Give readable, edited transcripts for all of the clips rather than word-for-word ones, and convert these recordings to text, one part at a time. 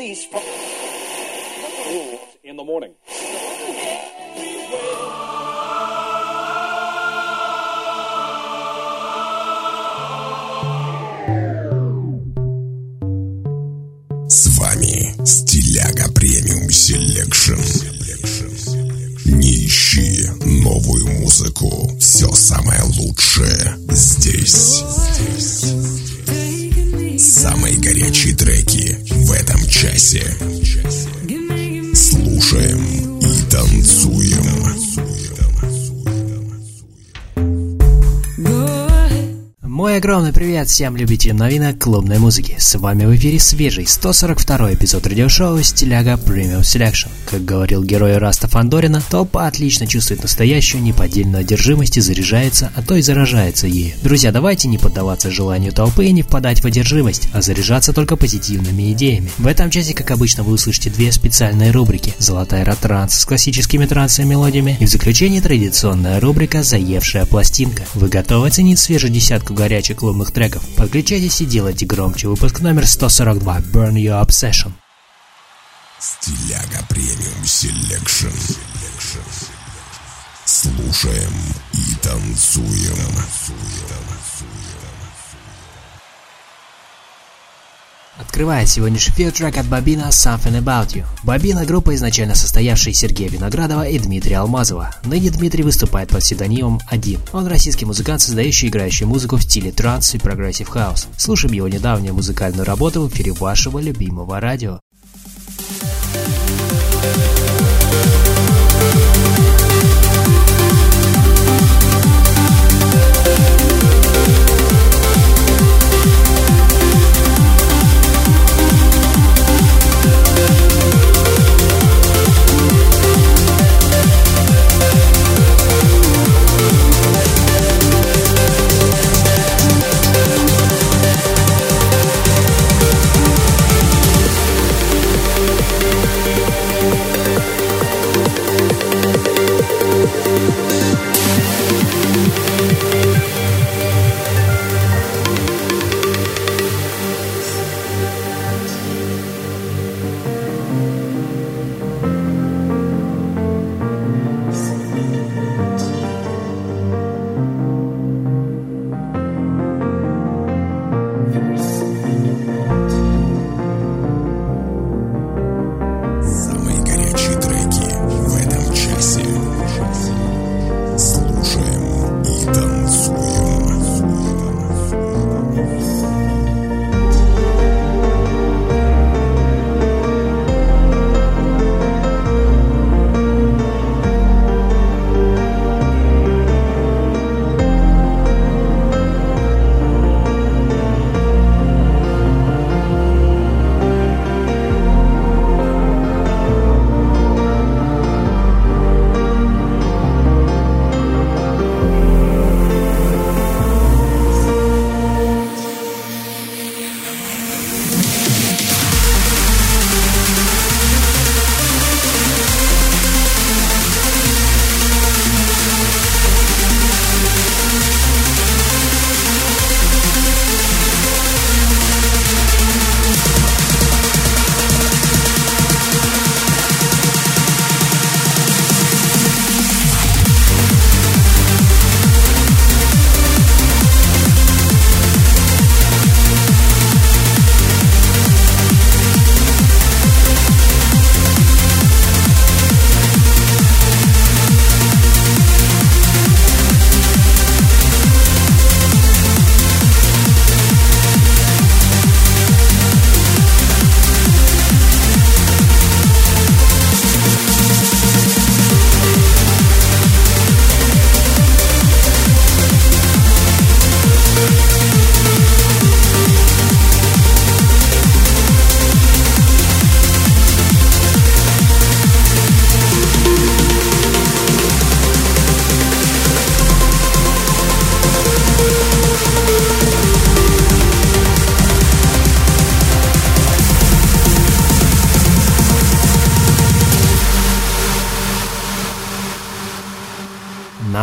release from in the morning. С вами Стиляга Премиум Селекшн. Не ищи новую музыку. Все самое лучшее здесь. Самые горячие треки в этом часе. Слушаем и танцуем. Мой огромный привет всем любителям новинок клубной музыки. С вами в эфире свежий 142-й эпизод радиошоу «Стиляга Premium Selection». Как говорил герой Раста Фандорина, толпа отлично чувствует настоящую неподдельную одержимость и заряжается, а то и заражается ею. Друзья, давайте не поддаваться желанию толпы и не впадать в одержимость, а заряжаться только позитивными идеями. В этом часе, как обычно, вы услышите две специальные рубрики: «Золотая эра-транс» с классическими трансовыми мелодиями и в заключении традиционная рубрика «Заевшая пластинка». Вы готовы оценить свежую десятку горячих клубных треков? Подключайтесь и делайте громче. Выпуск номер 142. Burn Your Obsession. Стиляга Премиум Селекшн. Слушаем и танцуем. Открывает сегодняшний эфир трек от Бобина «Something About You». Бобина — группа, изначально состоявшая из Сергея Виноградова и Дмитрия Алмазова. Ныне Дмитрий выступает под псевдонимом «Один». Он российский музыкант, создающий и играющий музыку в стиле транс и прогрессив хаус. Слушаем его недавнюю музыкальную работу в эфире вашего любимого радио.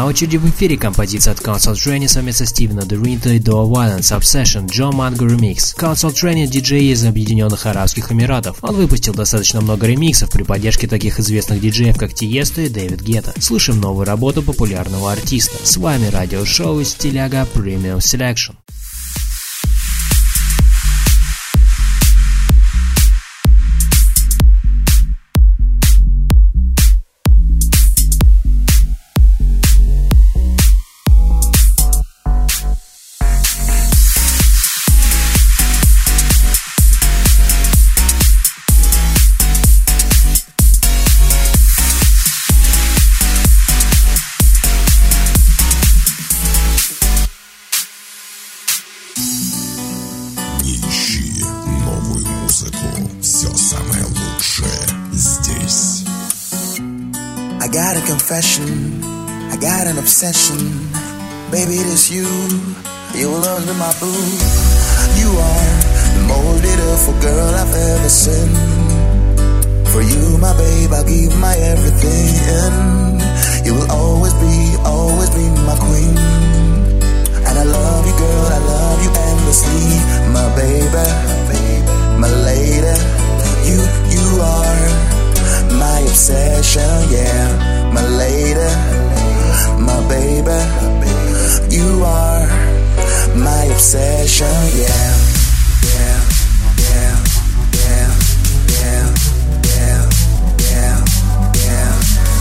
очереди в эфире композиция от Council Training совместно Стивена Дуринта и Doa Violence Obsession Joe Mango Remix. Council Training диджей из Объединенных Арабских Эмиратов. Он выпустил достаточно много ремиксов при поддержке таких известных диджеев, как Тиесто и Дэвид Гетта. Слышим новую работу популярного артиста. С вами радиошоу Стиляга Premium Selection. I got an obsession, baby, it is you. You will always be my boo. You are the most beautiful girl I've ever seen. For you, my babe, I'll give my everything. You will always be my queen. And I love you, girl, I love you endlessly. My baby, my lady. You are my obsession, yeah. My lady, my baby, you are my obsession, yeah. Yeah, yeah, yeah, yeah, yeah, yeah, yeah,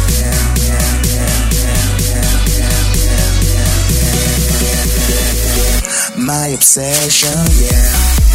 yeah, my obsession, yeah.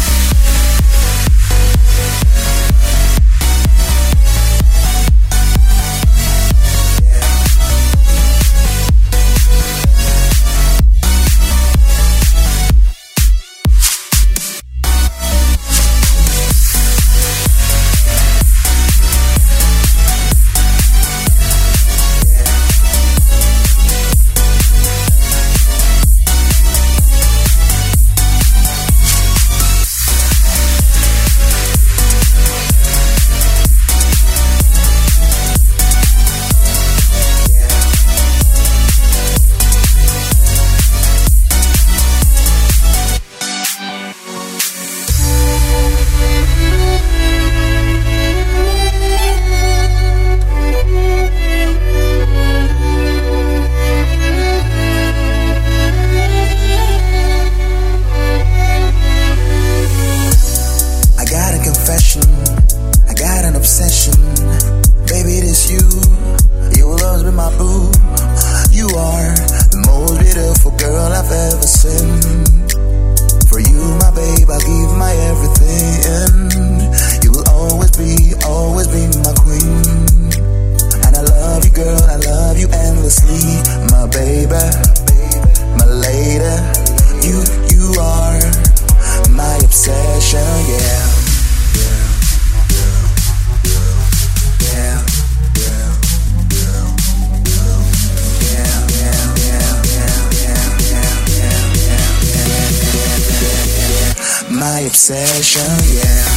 Obsession, yeah.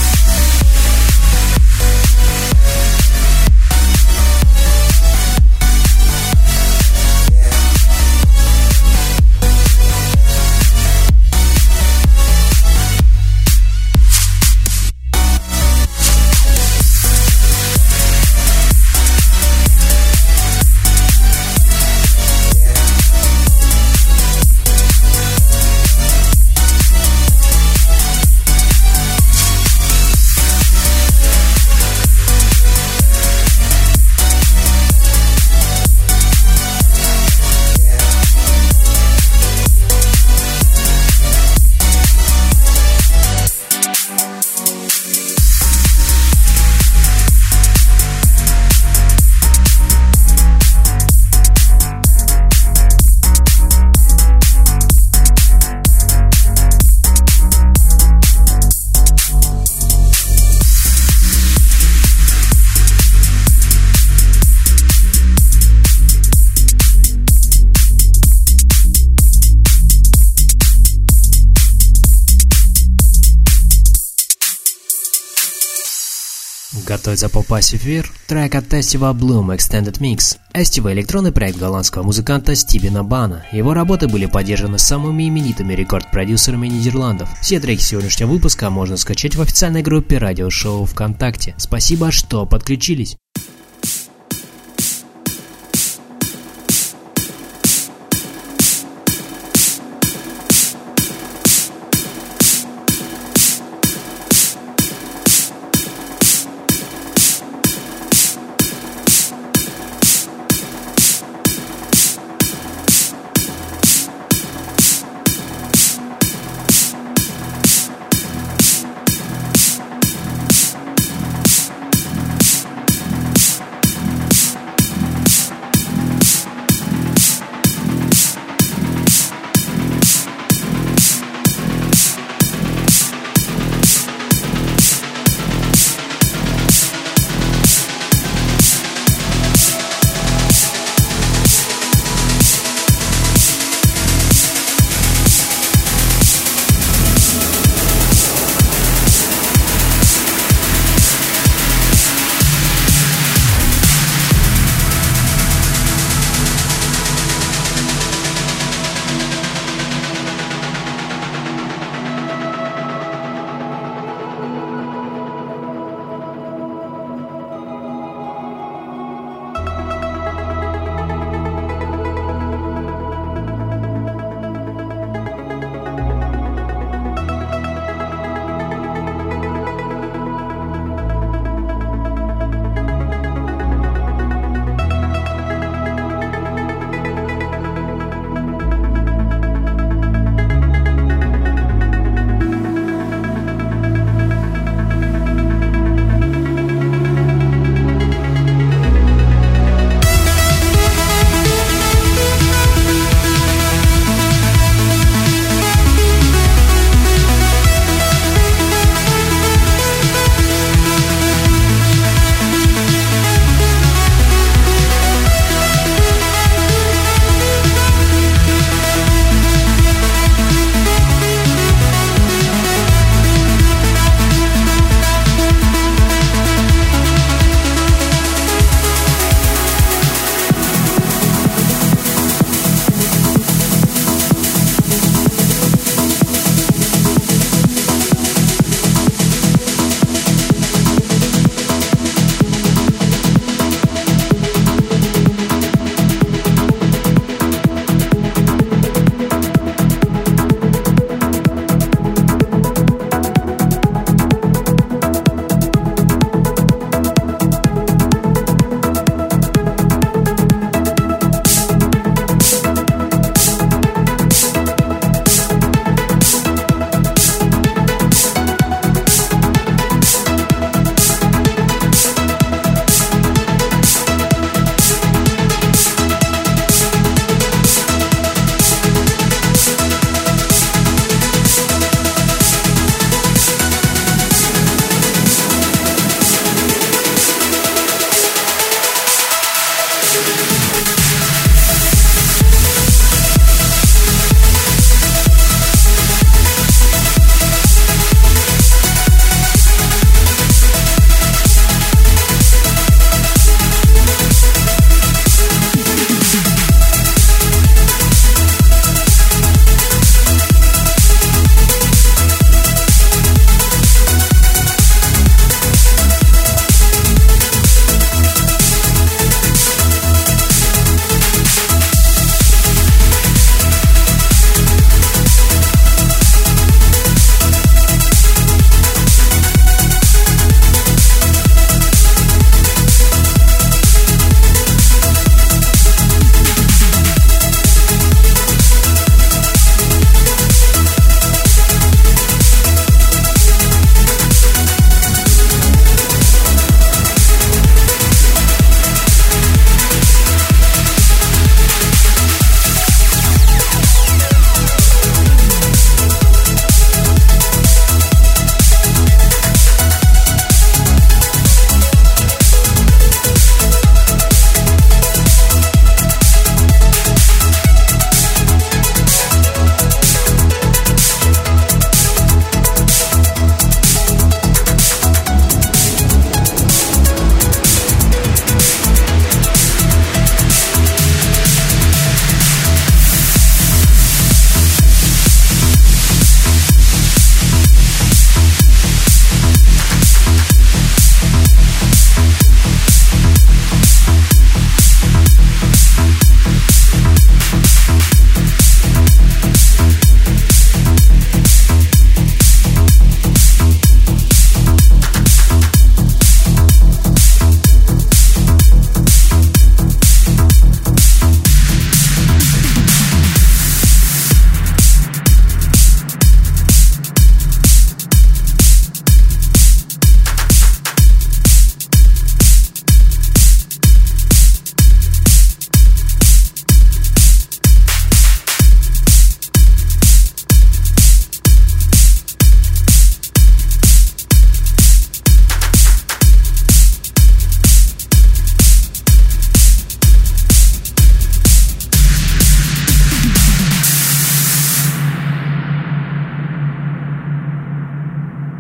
готовится попасть в эфир трек от Estiva Bloom Extended Mix. Estiva — электронный проект голландского музыканта Стивена Бана. Его работы были поддержаны самыми именитыми рекорд-продюсерами Нидерландов. Все треки сегодняшнего выпуска можно скачать в официальной группе радиошоу ВКонтакте. Спасибо, что подключились.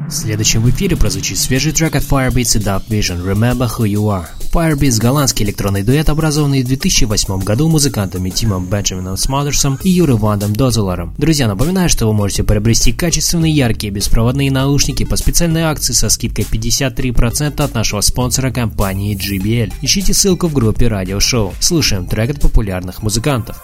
Следующим в эфире прозвучит свежий трек от Firebeatz и Dub Vision «Remember Who You Are». Firebeatz – голландский электронный дуэт, образованный в 2008 году музыкантами Тимом Бенджамином Смодерсом и Юрой Вандом Дозелером. Друзья, напоминаю, что вы можете приобрести качественные, яркие, беспроводные наушники по специальной акции со скидкой 53% от нашего спонсора компании JBL. Ищите ссылку в группе радиошоу. Слушаем трек от популярных музыкантов.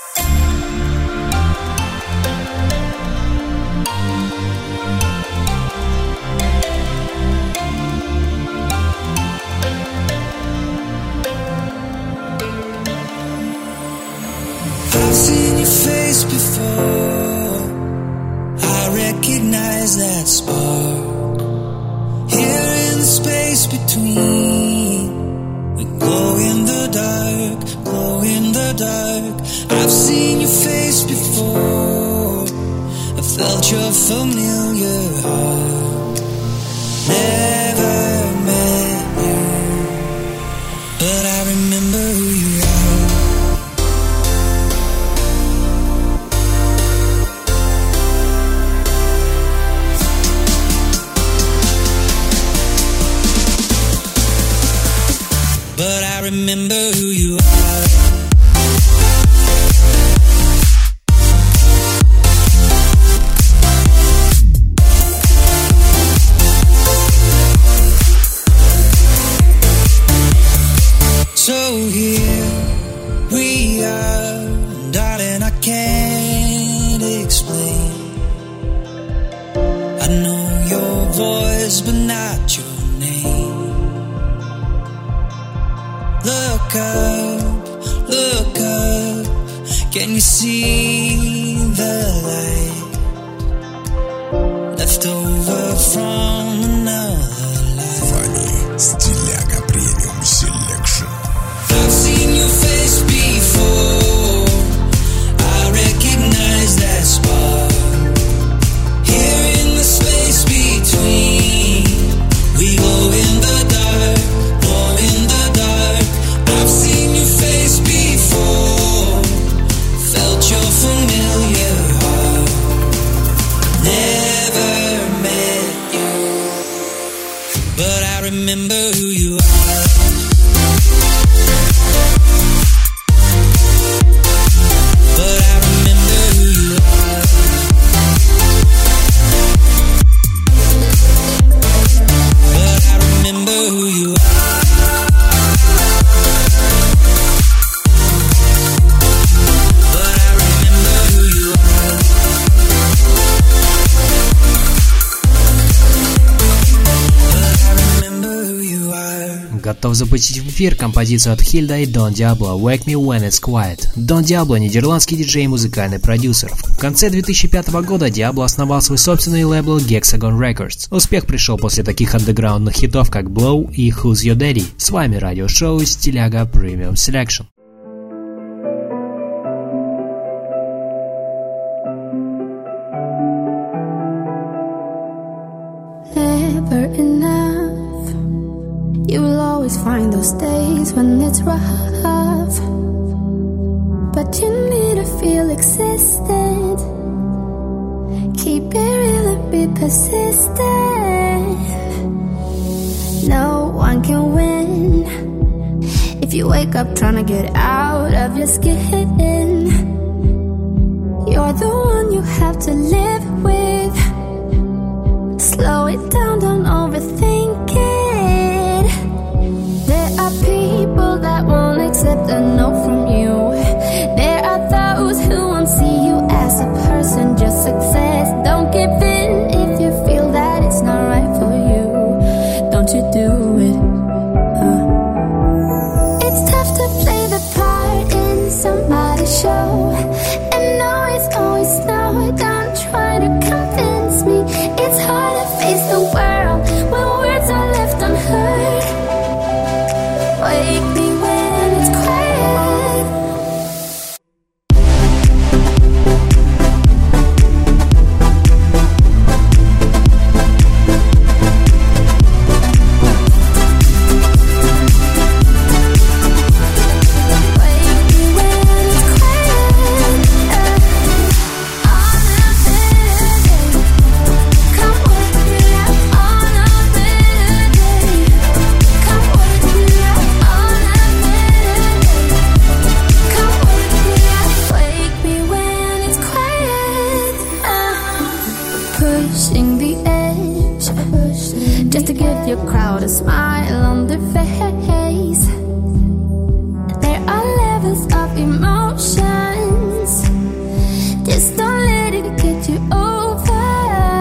I've seen your face before, I recognize that spark. Here in the space between, we glow in the dark, glow in the dark. I've seen your face before, I felt your familiar heart. Never met you, but I remember who you are. But I remember who you are. So here we are, darling, I can't explain. I know your voice, but not your name. Look up, can you see the light left over from another life? Вами Стиляга Premium Selection. I've seen your face before, I recognize that spark. Here in the space between, we glow in the dark, glow in the dark. I've seen your face before, felt your familiar heart. Never met you, but I remember who you are. But I remember who you are. But I remember who you are. Готов запустить в эфир композицию от Hilda и Don Diablo «Wake Me When It's Quiet». Don Diablo – нидерландский диджей и музыкальный продюсер. В конце 2005 года Diablo основал свой собственный лейбл Hexagon Records. Успех пришел после таких андеграундных хитов, как Blow и Who's Your Daddy. С вами радиошоу Стиляга Premium Selection. Never enough. You will always find those days when it's rough, but you need to feel existent. Keep it real and be persistent. No one can win if you wake up trying to get out of your skin. You're the one you have to live with. Slow it down, don't overthink it. There are people that won't accept a no from you. There are those who won't see you as a person, just success. Don't give in if you feel that it's not right for you. Don't you do it. It's tough to play the part in somebody's show, and no, it's always no. Don't try just to give your crowd a smile on their face. There are levels of emotions, just don't let it get you over.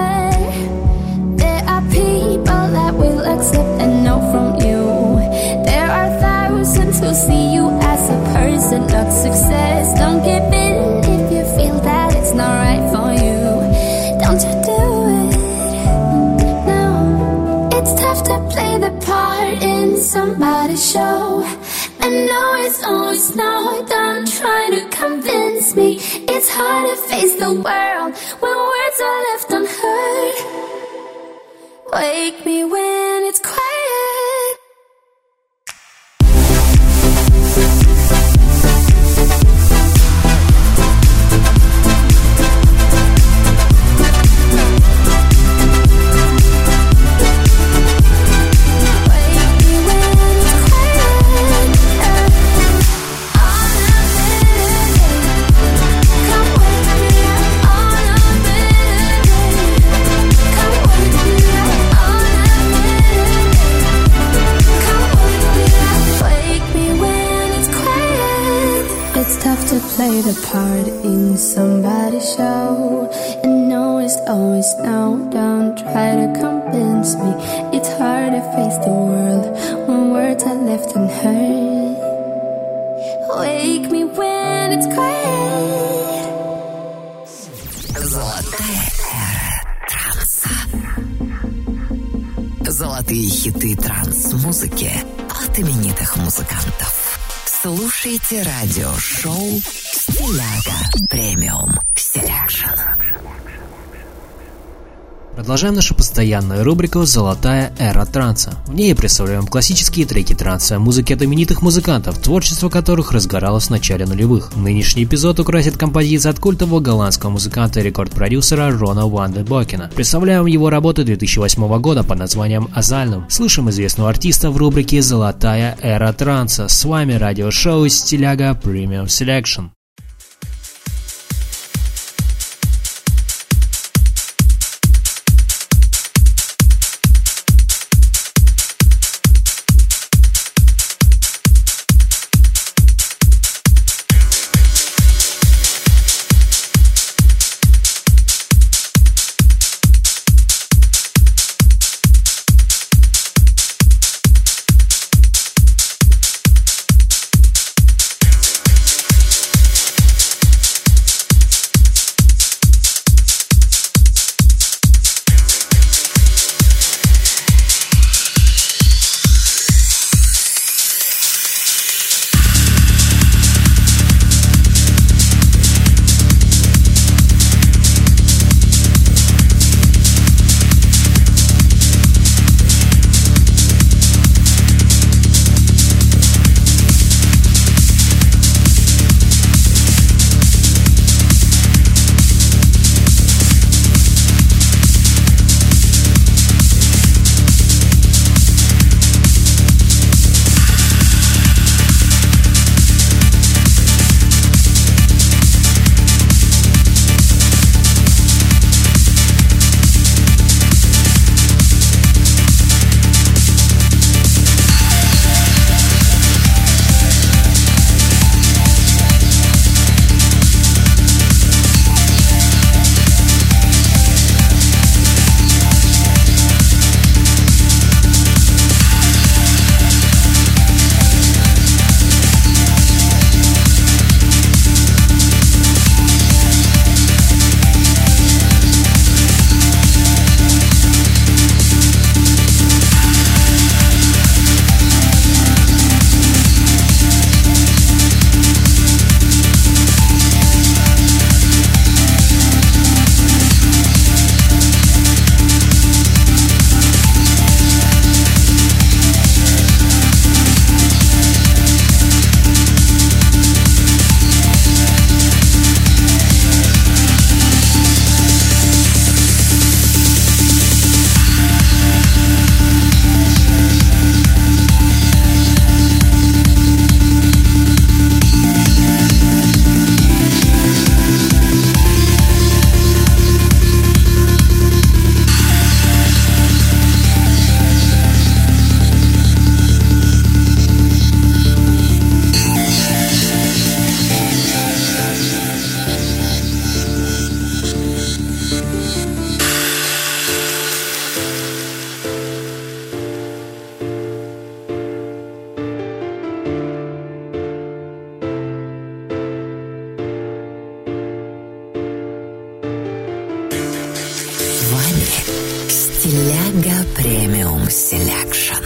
There are people that will accept and know from you. There are thousands who see you as a person, not success. Don't give in if you feel that it's not right for you. Don't you do it? No. It's tough to play the part in somebody's show. I know it's always no, don't try to convince me. It's hard to face the world when words are left unheard. Wake me when it's quiet. To play the part in somebody's show. And no is always no, don't try to convince me. It's hard to face the world when words are left unheard. Wake me when it's quiet. Золотая эра транса. Золотые хиты транс-музыки от именитых музыкантов. Слушайте радиошоу «Стиляга Премиум Селекшн». Продолжаем нашу постоянную рубрику «Золотая эра транса». В ней представляем классические треки транса, музыки от именитых музыкантов, творчество которых разгоралось в начале нулевых. Нынешний эпизод украсит композиция от культового голландского музыканта и рекорд-продюсера Рона Ван де Бокена. Представляем его работу 2008 года под названием «Азальнум». Слышим известного артиста в рубрике «Золотая эра транса». С вами радиошоу «Стиляга Премиум Селекшн». Стиляга премиум селекшн.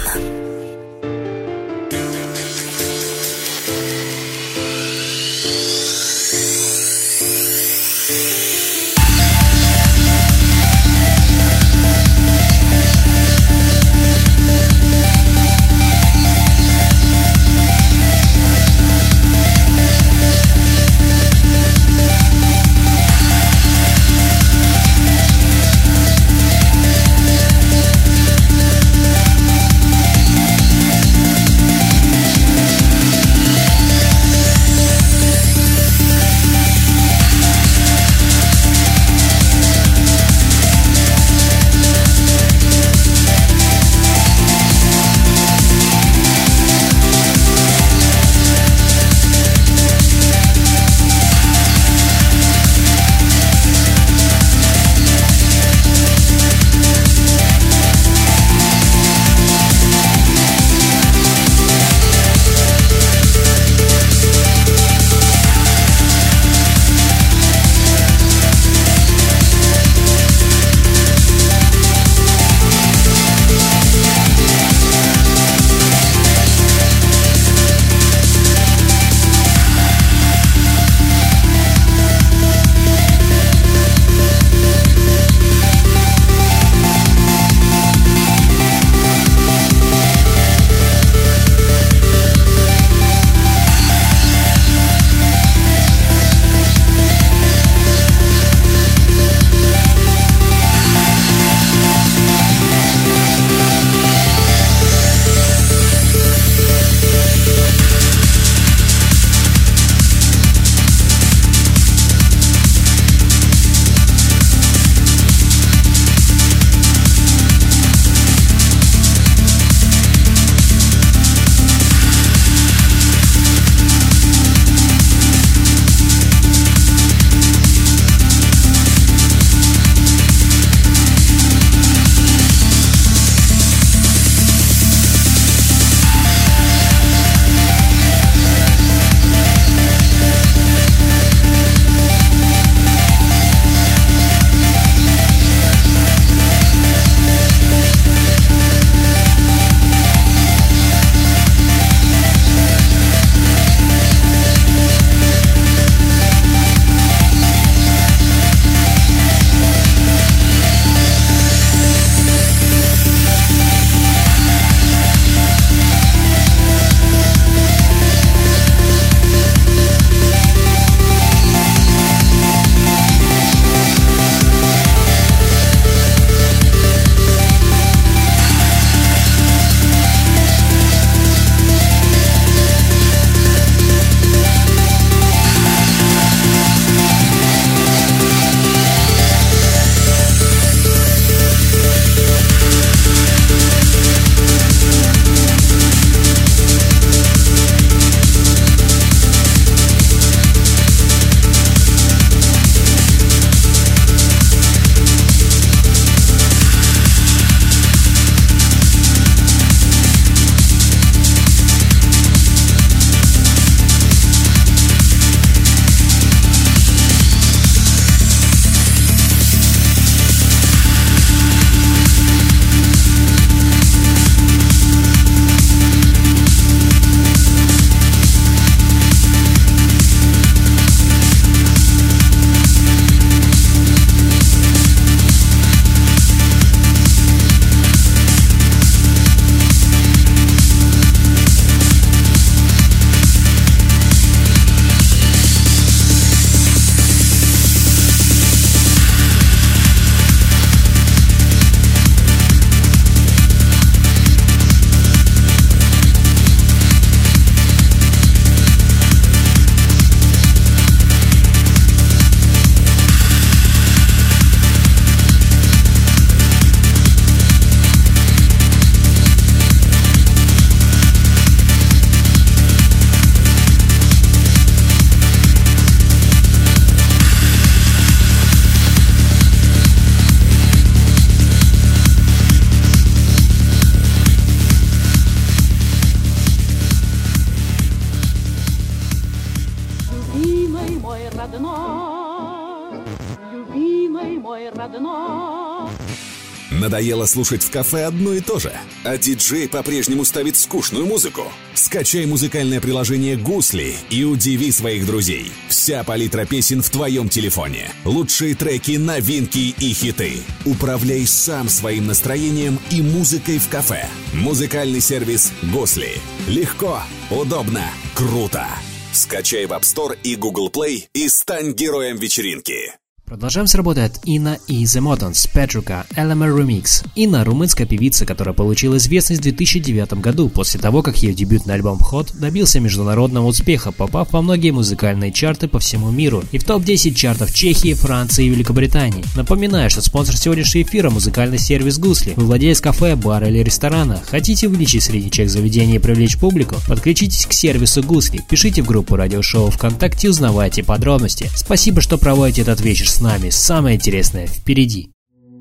Надоело слушать в кафе одно и то же? А диджей по-прежнему ставит скучную музыку? Скачай музыкальное приложение «Гусли» и удиви своих друзей. Вся палитра песен в твоем телефоне. Лучшие треки, новинки и хиты. Управляй сам своим настроением и музыкой в кафе. Музыкальный сервис «Гусли». Легко, удобно, круто. Скачай в App Store и Google Play и стань героем вечеринки. Продолжаем с работы от Инна и The Motons, Petruka, Elemer Remix. Инна – румынская певица, которая получила известность в 2009 году, после того, как ее дебютный альбом Hot добился международного успеха, попав во многие музыкальные чарты по всему миру и в топ-10 чартов Чехии, Франции и Великобритании. Напоминаю, что спонсор сегодняшнего эфира – музыкальный сервис Гусли. Вы владелец кафе, бара или ресторана. Хотите увеличить средний чек заведения и привлечь публику? Подключитесь к сервису Гусли, пишите в группу радиошоу ВКонтакте и узнавайте подробности. Спасибо, что проводите этот вечер с нами. Самое интересное впереди.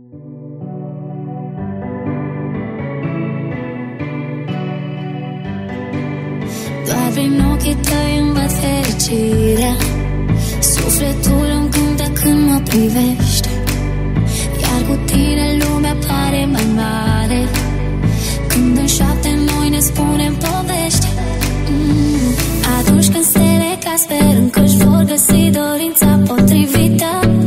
Doar prin ochii tăi îmi văd fericirea. Sufletul îmi cântă când mă privești. Iar cu tine lumea pare mai mare. Când în șoapte noi ne spunem povești. Atunci când stele ca sperând că-și vor găsi dorința potrivită.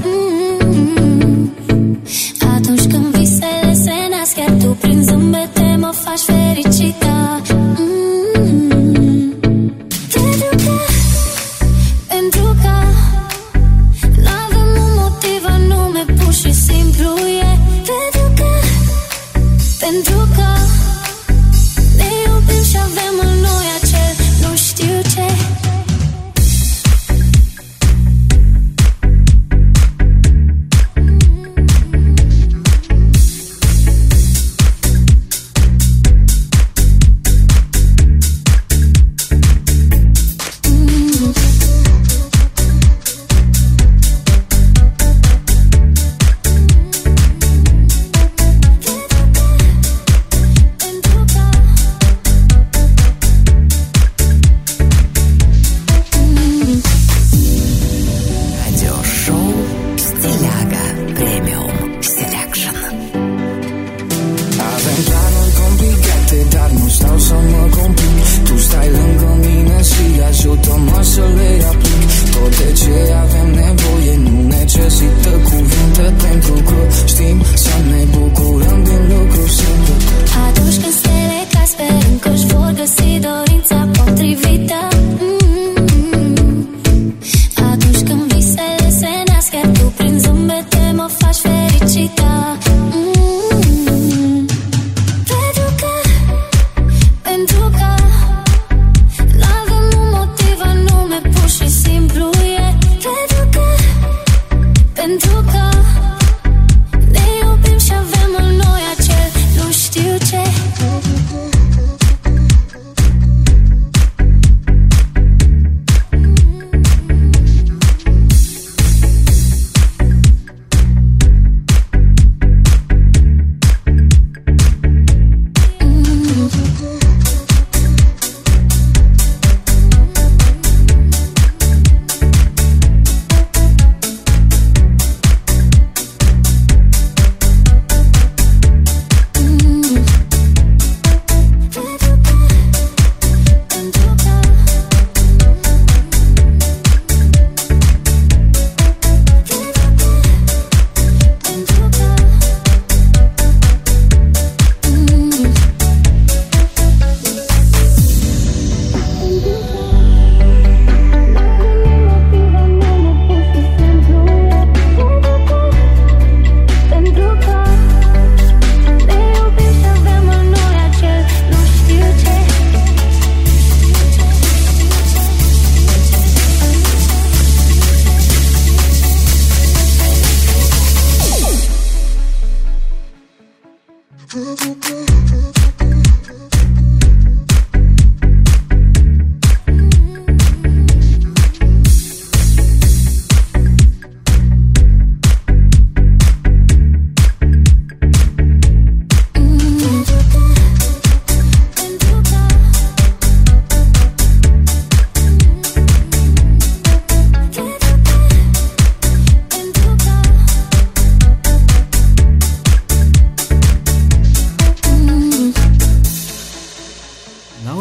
Atunci când visele se nasc, iar tu prin zâmbete mă faci fericită. Pentru că n-avem un motiv anume, pur și simplu e. Pentru că ne iubim și avem în noi acel nu știu ce.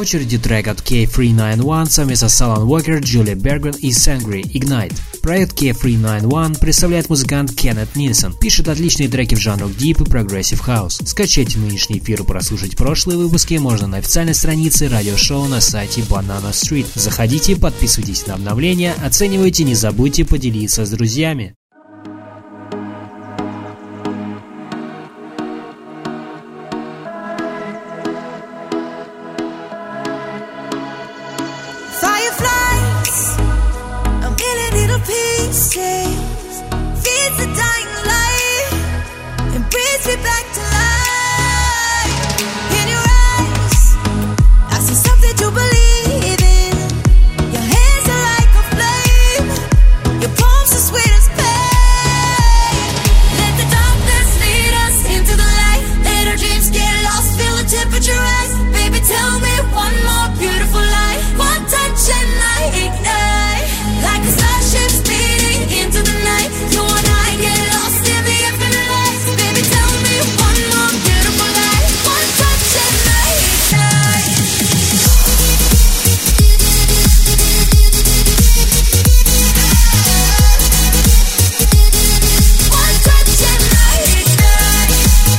очереди трек от K391 совместно с Alan Walker, Julia Bergman и Sangri Ignite. Проект K391 представляет музыкант Кеннет Нильсон. Пишет отличные треки в жанрах Deep и Progressive House. Скачать нынешний эфир и прослушать прошлые выпуски можно на официальной странице радиошоу на сайте Banana Street. Заходите, подписывайтесь на обновления, оценивайте, не забудьте поделиться с друзьями. Feeds the dying light and brings me back to life. In your eyes, I see something to believe in. Your hands are like a flame. Your palms are sweet as pain. Let the darkness lead us into the light. Let our dreams get lost, feel the temperature rise. Baby, tell me one more beautiful lie. One touch and I ignite. Like a starship speeding into the night. You and I get lost in the infinite lights. Baby, tell me one more beautiful lie. One touch and I ignite. One touch and I ignite.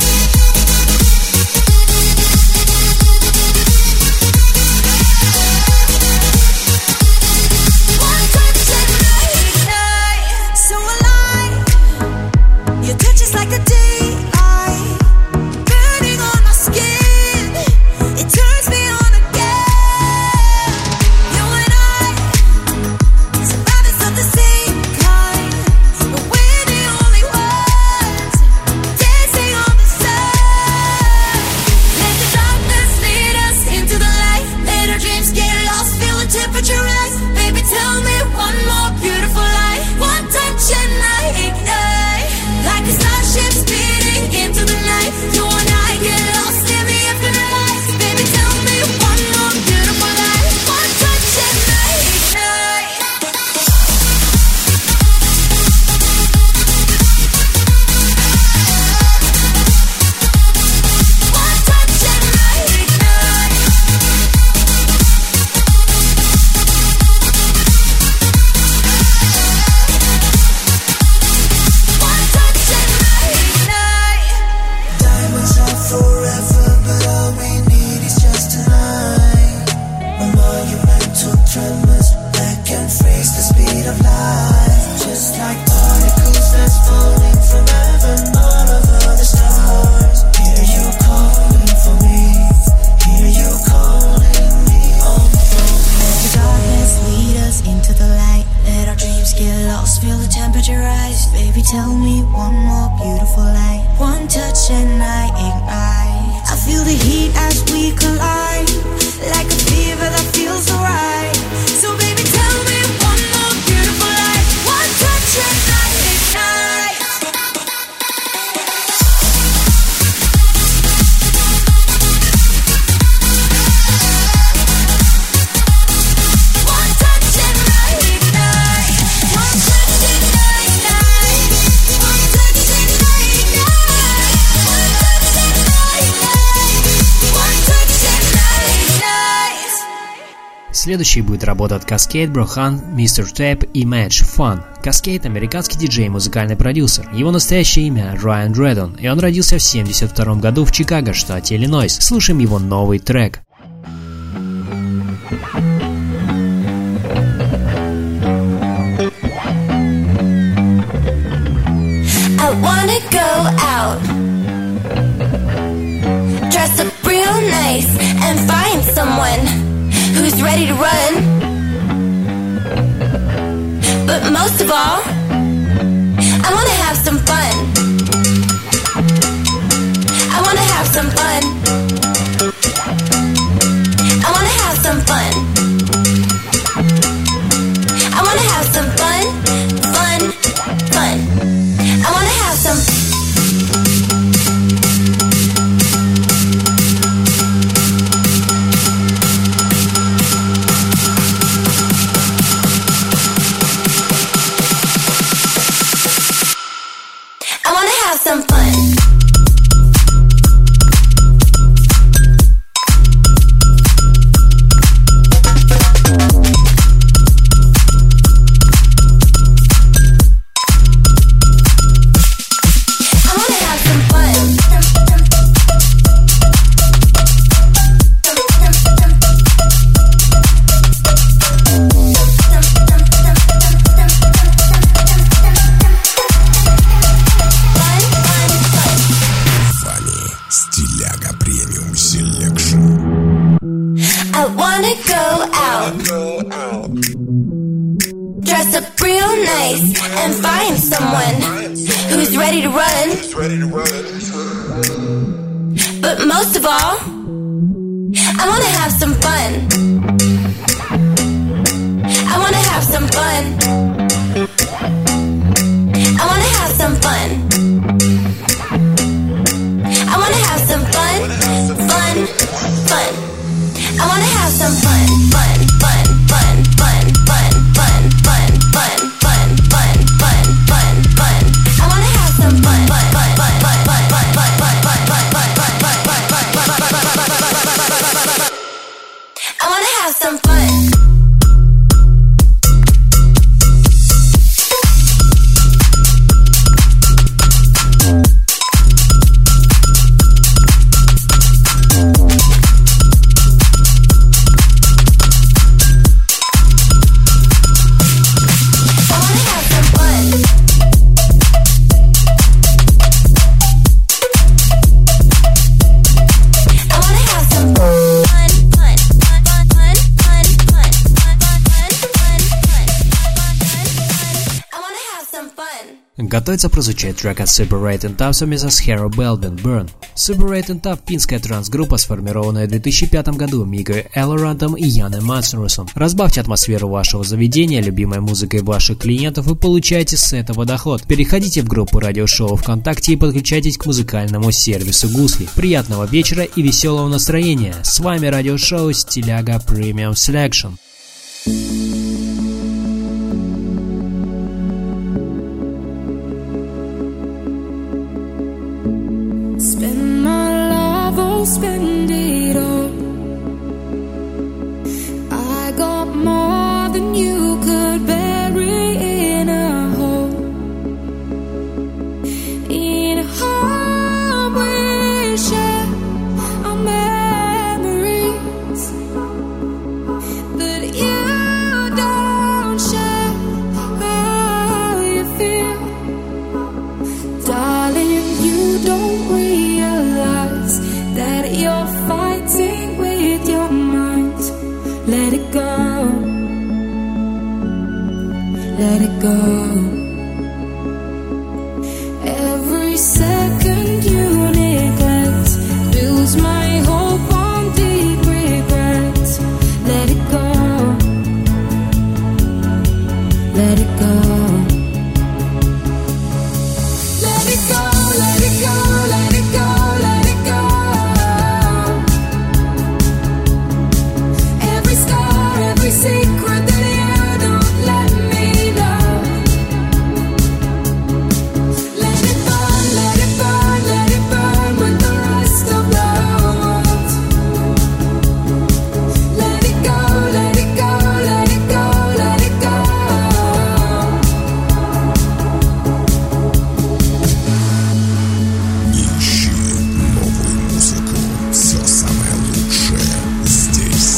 One touch and I ignite. So alive. Your touch is like the daylight, burning on my skin. It turns me on again. You and I, survivors of the same kind, but we're the only ones dancing on the sun. Let the darkness lead us into the light. Let our dreams get lost, feel the temperature rise. Baby, tell me one more beautiful lie. One touch and I ignite. Like a starship speeding into the night. You and I get lost in the infinite lights. Baby, tell me one more beautiful lie. One touch and I ignite. One touch and I ignite. One touch and I ignite. Diamonds are forever, but all we need is just tonight. A monumental tremors that can freeze the speed of light. Just like particles that's falling from heaven all over the stars. Hear you calling for me. Hear you calling me on the phone. Let the darkness lead us into the light. Let our dreams get lost, feel the temperature rise. Baby, tell me one more beautiful lie. One touch and I ignite. I feel the heat as we collide, like a fever that feels so right. So baby, tell me one more beautiful lie. One touch and I ignite. One touch and I ignite. One touch and I ignite. One touch and I ignite. One touch and I ignite. One touch and I ignite. Следующей будет работа от Cascade, Brohan, Mr. Tape и Match Fun. Cascade – американский диджей и музыкальный продюсер. Его настоящее имя Райан Дредон, и он родился в 1972 году в Чикаго, штате Иллинойс. Слушаем его новый трек. I wanna go out, dress up real nice, and find someone who's ready to run. But most of all, I wanna have some fun. I wanna have some fun. I wanna have some fun. I wanna have some fun, fun, fun. I wanna have some. look real nice and find someone who's ready to run. But most of all, I wanna have some fun. I wanna have some fun. I wanna have some fun. I wanna have some fun, fun, fun. I wanna have some fun, fun, fun, fun, fun, fun, fun, fun, fun, fun, fun, fun, fun, fun. I wanna have some fun, fun, fun, fun, fun, fun, fun, fun, fun, fun, fun, fun, fun, fun, fun. I wanna have some fun. Готовится прозвучать трек от Super Rat and Tough совместно с Hero Belvin Burn. Super Rat and Tough – финская транс-группа, сформированная в 2005 году Микой Эллорантом и Яном Матсенрусом. Разбавьте атмосферу вашего заведения любимой музыкой ваших клиентов и получайте с этого доход. Переходите в группу радиошоу ВКонтакте и подключайтесь к музыкальному сервису Гусли. Приятного вечера и веселого настроения. С вами радиошоу Стиляга Premium Selection. Spend it all. I got more than you could bury in a hole. In a home we share our memories that you don't share. How you feel, darling? You don't realize that you're fighting with your mind. Let it go. Let it go. Every second you neglect builds my hope on deep regret. Let it go. Let it go. Let it go. Let it go. Let it go. Let it go. Every secret that you don't let me know. Let it burn, let it burn, let it burn with the rest of the world. Let it go, let it go, let it go, let it go. Ищи новую музыку. Все самое лучшее здесь.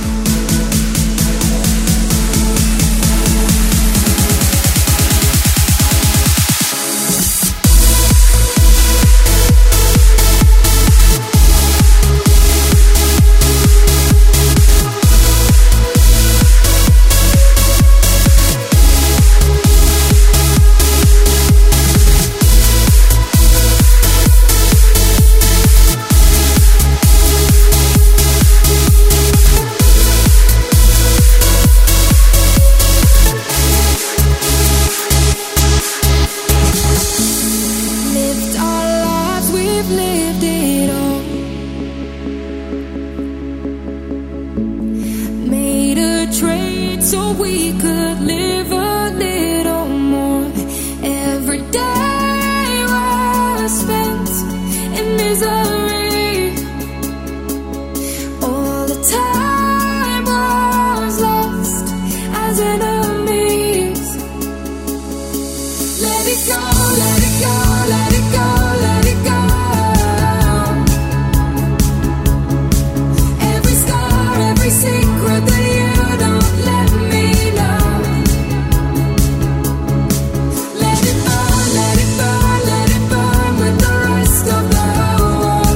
Lived our lives, we've lived it all. Made a trade so we could live a little more. Every day was spent in misery. All the time was lost as enemies. Let it go, let it go, let it go, let it go. Every scar, every secret that you don't let me know. Let it burn, let it burn, let it burn with the rest of the world.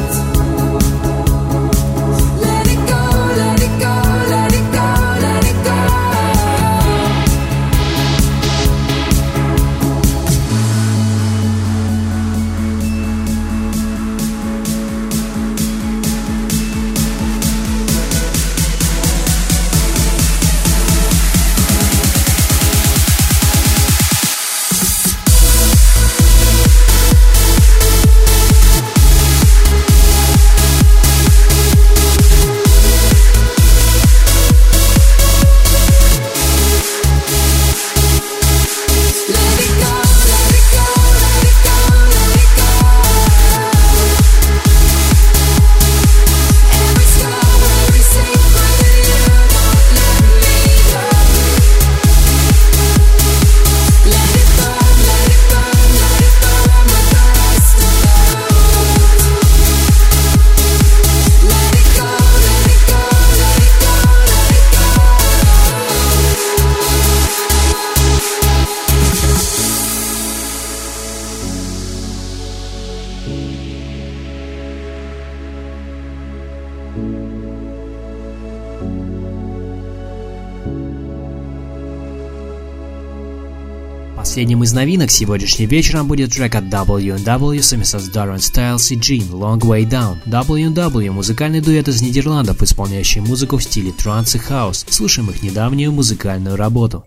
Последним из новинок сегодняшним вечером будет трек от W&W совместно с Darren Styles и Jean Long Way Down. W&W – музыкальный дуэт из Нидерландов, исполняющий музыку в стиле транс и хаус. Слушаем их недавнюю музыкальную работу.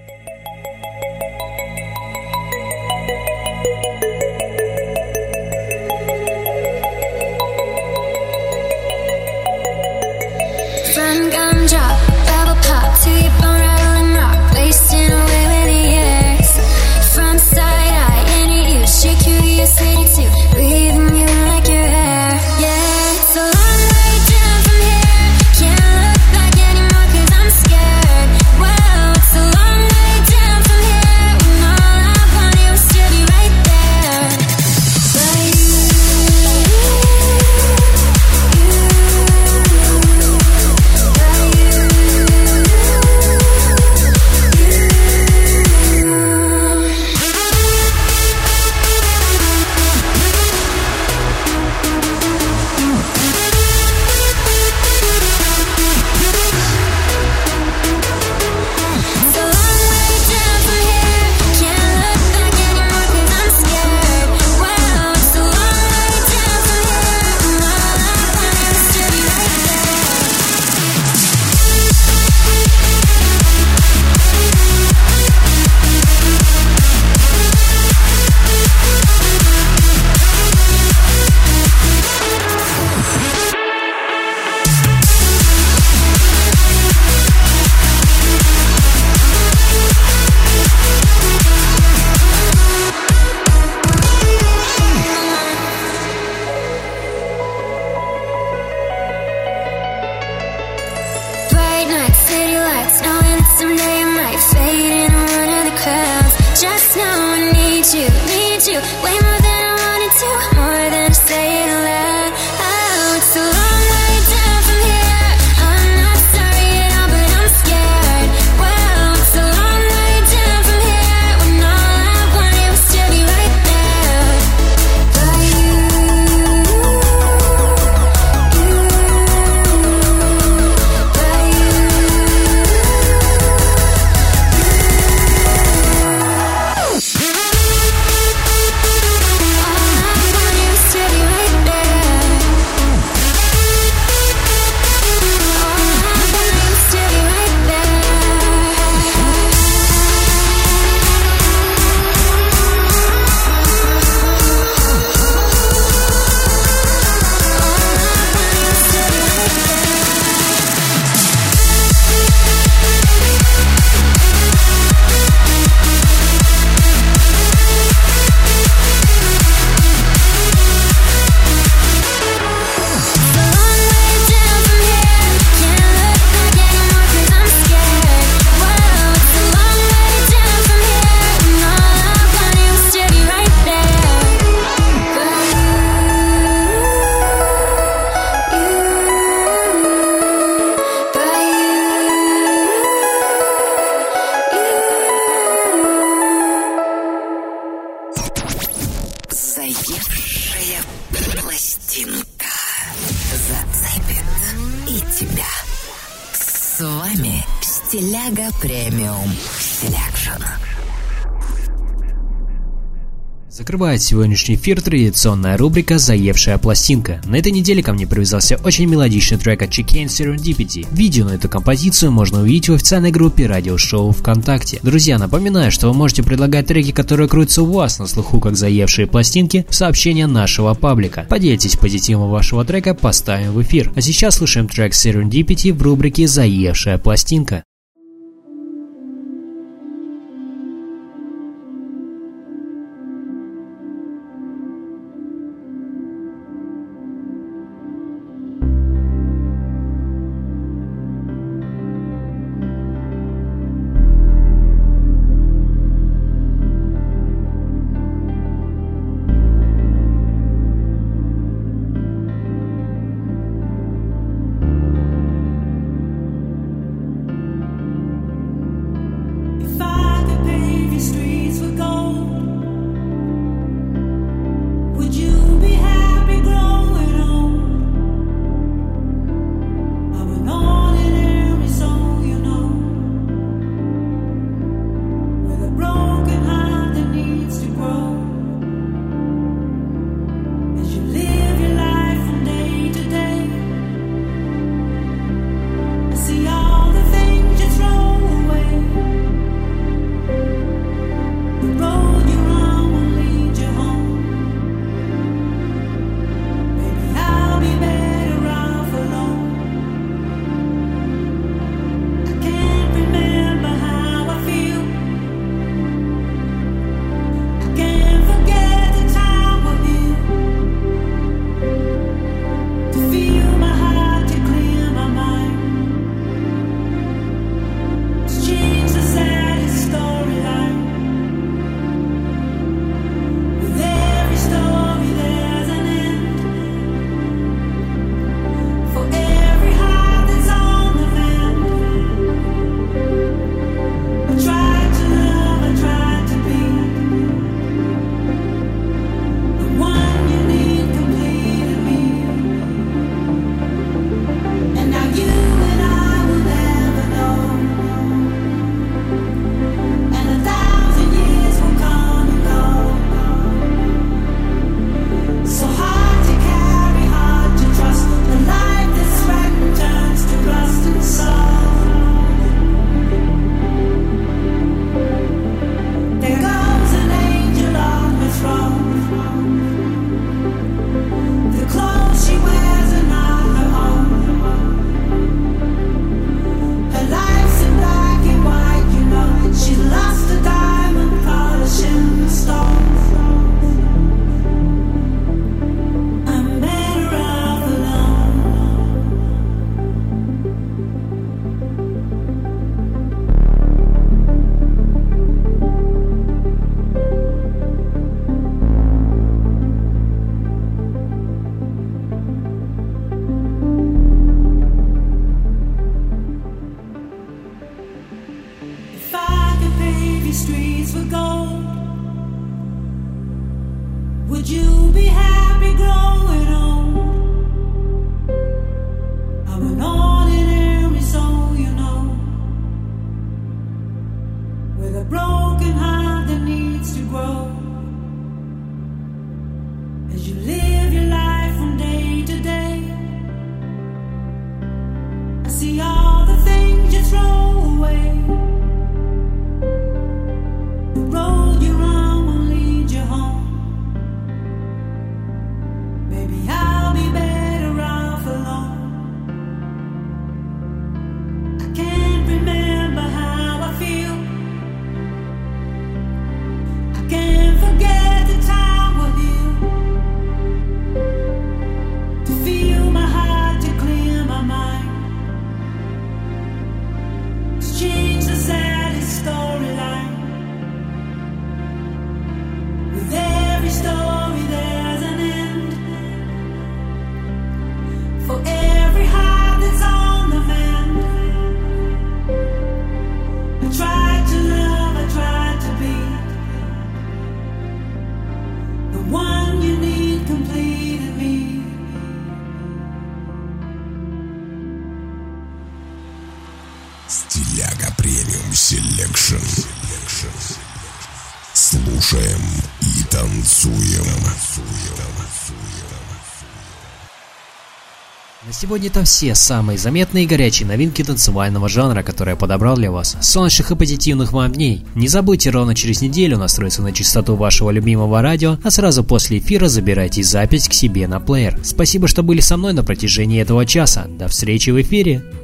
From gumdrop, bubble pop to your bone rattling rock, wasting away with the years. From side eye, into you, shake you, your city too, breathing you like your hair. Yeah, it's a long way down from here. Can't look back anymore 'cause I'm scared. Wow, it's a long way down from here. When all I wanted was to be right there. But you. С вами Стиляга Премиум Селекшн. Закрывает сегодняшний эфир традиционная рубрика «Заевшая пластинка». На этой неделе ко мне привязался очень мелодичный трек от Chicane Serendipity. Видео на эту композицию можно увидеть в официальной группе радиошоу ВКонтакте. Друзья, напоминаю, что вы можете предлагать треки, которые крутятся у вас на слуху как заевшие пластинки, в сообщения нашего паблика. Поделитесь позитивом вашего трека, поставим в эфир. А сейчас слушаем трек Serendipity в рубрике «Заевшая пластинка». Стиляга премиум селекшн. Слушаем и танцуем. На сегодня это все самые заметные и горячие новинки танцевального жанра, которые я подобрал для вас. Солнечных и позитивных вам дней. Не забудьте ровно через неделю настроиться на частоту вашего любимого радио, а сразу после эфира забирайте запись к себе на плеер. Спасибо, что были со мной на протяжении этого часа. До встречи в эфире.